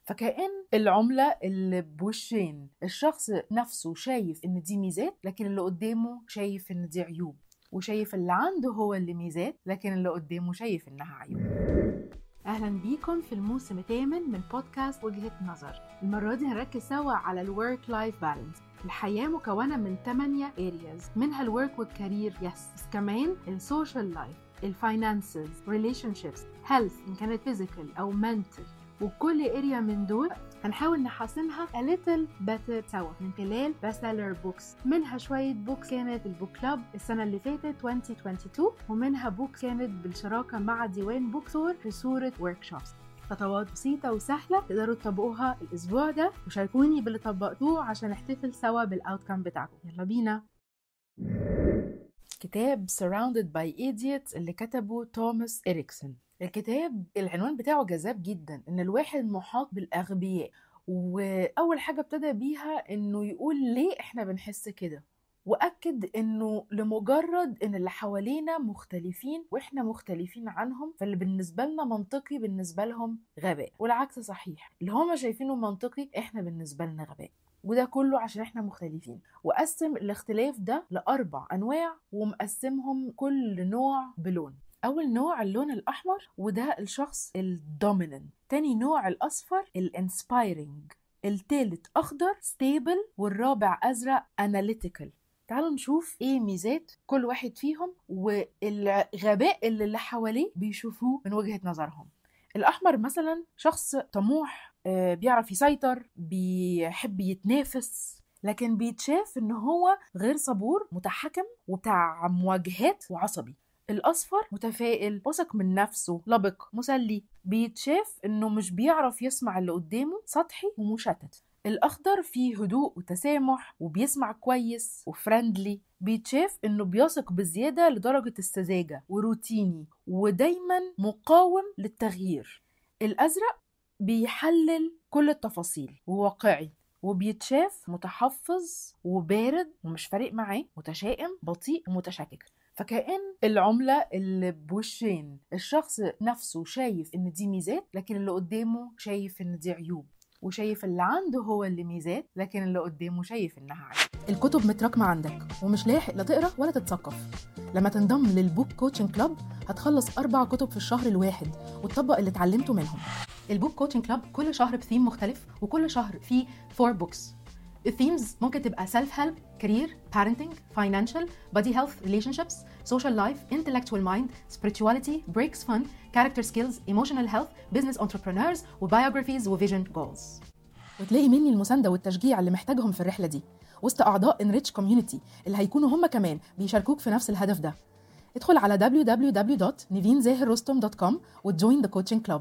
فكأن العملة اللي بوشين، الشخص نفسه شايف ان دي ميزات لكن اللي قدامه شايف ان دي عيوب، وشايف اللي عنده هو اللي ميزات لكن اللي قدامه شايف انها عيوب. اهلا بيكم في الموسم الثامن من بودكاست وجهة نظر. المرة دي هنركز سوا على الورك لايف بالانس. الحياة مكونة من 8 areas، منها الورك والكارير بس كمان السوشيال لايف، الفاينانسز، relationships، health إن كانت physical أو mental، وكل اريا من دول هنحاول نحسنها a little better سوا من خلال bestseller books. منها شوية بوكس كانت البوك كلاب السنة اللي فاتت 2022، ومنها بوك كانت بالشراكة مع ديوان بوكسور في صورة workshops. خطوات بسيطة وسهلة تقدروا تطبقوها الأسبوع ده، وشاركوني باللي طبقتوه عشان نحتفل سوا بالأوتكم بتاعكم. يلا بينا. كتاب Surrounded by Idiots اللي كتبه توماس إريكسون. الكتاب العنوان بتاعه جذاب جدا، ان الواحد محاط بالاغبياء، واول حاجه ابتدى بيها انه يقول ليه احنا بنحس كده، واكد انه لمجرد ان اللي حوالينا مختلفين واحنا مختلفين عنهم، فاللي بالنسبه لنا منطقي بالنسبه لهم غباء، والعكس صحيح، اللي هما شايفينه منطقي احنا بالنسبه لنا غباء، وده كله عشان احنا مختلفين. وقسم الاختلاف ده ل4 أنواع، ومقسمهم كل نوع بلون. أول نوع اللون الأحمر، وده الشخص الدوميننت. تاني نوع الأصفر الانسبايرنج. التالت أخضر ستيبل، والرابع أزرق أناليتيكال. تعالوا نشوف ايه ميزات كل واحد فيهم والغباء اللي حواليه بيشوفوه من وجهة نظرهم. الأحمر مثلا شخص طموح، بيعرف يسيطر، بيحب يتنافس، لكن بيتشاف ان هو غير صبور، متحكم، وبتاع مواجهات، وعصبي. الأصفر متفائل، واثق من نفسه، لبق، مسلي، بيتشاف انه مش بيعرف يسمع اللي قدامه، سطحي ومشتت. الأخضر فيه هدوء وتسامح، وبيسمع كويس وفرندلي، بيتشاف انه بيثق بزيادة لدرجة السذاجة، وروتيني، ودايما مقاوم للتغيير. الأزرق بيحلل كل التفاصيل وواقعي، وبيتشاف متحفظ وبارد ومش فارق معاه، متشائم، بطيء ومتشكك. فكأن العملة اللي بوشين، الشخص نفسه شايف ان دي ميزات لكن اللي قدامه شايف ان دي عيوب، وشايف اللي عنده هو اللي ميزات لكن اللي قدامه شايف انها عيوب. الكتب متراكمة عندك ومش لاحق لا تقرأ ولا تتثقف. لما تنضم للبوك كوتشنج كلاب هتخلص 4 كتب في الشهر الواحد وتطبق اللي اتعلمته منهم. البوك كوتشنج كلاب كل شهر بثيم مختلف، وكل شهر فيه 4 بوكس. الثيمز ممكن تبقى self help, career, parenting, financial, body health, relationships, social life, intellectual mind, spirituality, breaks fun, character skills, emotional health, business entrepreneurs, وbiographies وvision goals. وتلاقي مني المساندة والتشجيع اللي محتاجهم في الرحلة دي وسط أعضاء Enrich Community اللي هيكونوا هم كمان بيشاركوك في نفس الهدف ده. ادخل على www.nivinzahirrostom.com وتجوين the coaching club.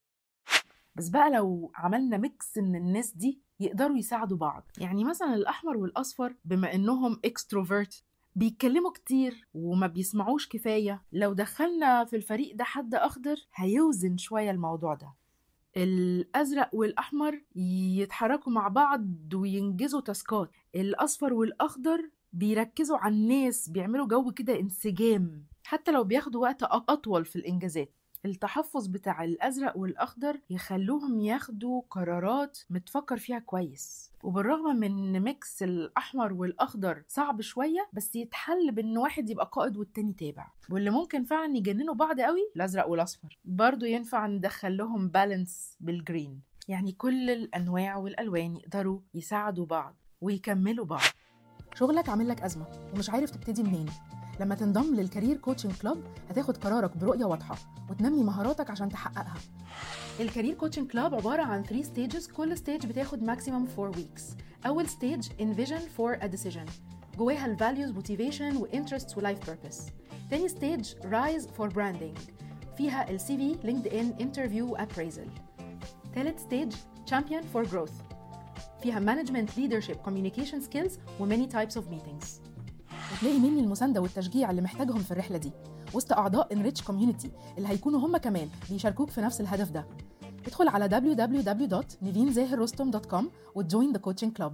بس بقى لو عملنا ميكس من الناس دي يقدروا يساعدوا بعض، يعني مثلا الأحمر والأصفر بما إنهم اكستروفيرت بيتكلموا كتير وما بيسمعوش كفاية، لو دخلنا في الفريق ده حد أخضر هيوزن شوية الموضوع ده. الأزرق والأحمر يتحركوا مع بعض وينجزوا تاسكات، الأصفر والأخضر بيركزوا على الناس، بيعملوا جو كده انسجام حتى لو بياخدوا وقت أطول في الإنجازات. التحفظ بتاع الأزرق والأخضر يخلوهم ياخدوا قرارات متفكر فيها كويس، وبالرغم من ميكس الأحمر والأخضر صعب شوية، بس يتحل بأن واحد يبقى قائد والتاني تابع. واللي ممكن فعلا يجننوا بعض قوي الأزرق والأصفر، برضو ينفع ندخل لهم بالانس بالجرين، يعني كل الأنواع والألوان يقدروا يساعدوا بعض ويكملوا بعض. شغلك عامل لك أزمة ومش عارف تبتدي منين؟ لما تنضم للكارير كوتشنج كلاب هتاخد قرارك برؤية واضحة وتنمي مهاراتك عشان تحققها. الكارير كوتشنج كلاب عبارة عن 3 stages، كل stage بتاخد maximum 4 weeks. أول stage envision for a decision، جواها ال values, motivation و interests و life purpose. تاني stage rise for branding، فيها ال CV, LinkedIn, interview و appraisal. تالت stage champion for growth، فيها management, leadership, communication skills و many types of meetings. وتلاقي مني المساندة والتشجيع اللي محتاجهم في الرحلة دي وسط أعضاء Enrich Community اللي هيكونوا هم كمان بيشاركوك في نفس الهدف ده. ادخل على www.nivinzahirrostom.com وتجوين the coaching club.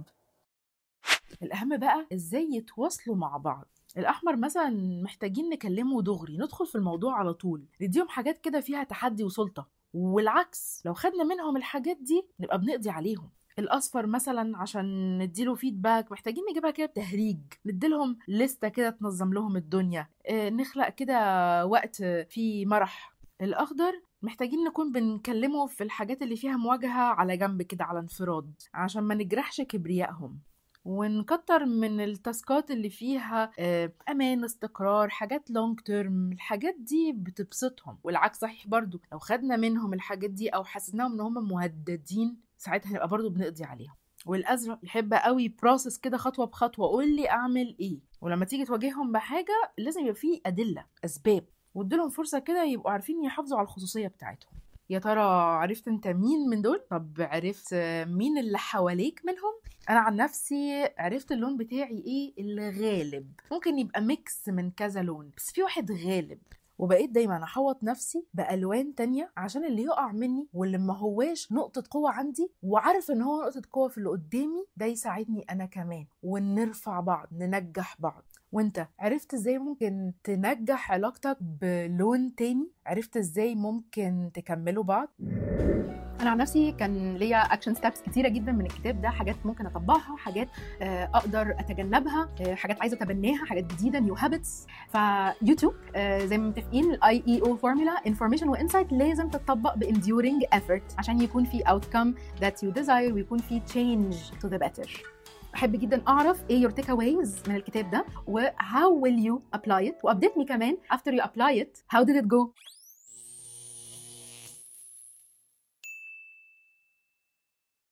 الأهم بقى إزاي يتواصلوا مع بعض. الأحمر مثلا محتاجين نكلمه دغري، ندخل في الموضوع على طول، نديهم حاجات كده فيها تحدي وسلطة، والعكس لو خدنا منهم الحاجات دي نبقى بنقضي عليهم. الاصفر مثلا عشان نديله فيدباك محتاجين نجيبها كده بتهريج، نديلهم لستة كده تنظم لهم الدنيا، نخلق كده وقت فيه مرح. الاخضر محتاجين نكون بنكلمه في الحاجات اللي فيها مواجهة على جنب كده على انفراد عشان ما نجرحش كبريائهم، ونكتر من التاسكات اللي فيها امان، استقرار، حاجات لونج تيرم. الحاجات دي بتبسطهم. والعكس صحيح برضو، لو خدنا منهم الحاجات دي او حسيناهم ان هم مهددين ساعتها هنبقى برضو بنقضي عليهم. والازرق يحب قوي بروسس كده خطوه بخطوه، قول لي اعمل ايه، ولما تيجي تواجههم بحاجه لازم يبقى فيه ادله اسباب، واديلهم فرصه كده يبقوا عارفين يحافظوا على الخصوصيه بتاعتهم. يا ترى عرفت انت مين من دول؟ طب عرفت مين اللي حواليك منهم؟ انا عن نفسي عرفت اللون بتاعي ايه الغالب، ممكن يبقى ميكس من كذا لون بس في واحد غالب، وبقيت دايما احوط نفسي بالوان تانية عشان اللي يقع مني واللي ما هواش نقطة قوة عندي وعارف ان هو نقطة قوة في اللي قدامي ده يساعدني انا كمان، ونرفع بعض ننجح بعض. وانت عرفت ازاي ممكن تنجح علاقتك بلون تاني؟ عرفت ازاي ممكن تكملوا بعض؟ انا عن نفسي كان ليا اكشن ستابس كتيره جدا من الكتاب ده، حاجات ممكن اطبقها، حاجات اقدر اتجنبها، حاجات عايزه اتبناها، حاجات جديده، نيو هابتس. فيوتيوب زي ما متفقين الاي اي او فورمولا، انفورميشن وانسايت لازم تتطبق بانديورنج ايفورت عشان يكون في اوتكم ذات يو ديزاير ويكون في تشينج تو ذا بيتر. احب جدا اعرف ايه your takeaways من الكتاب ده و how will you apply it، وابديتني كمان after you apply it how did it go.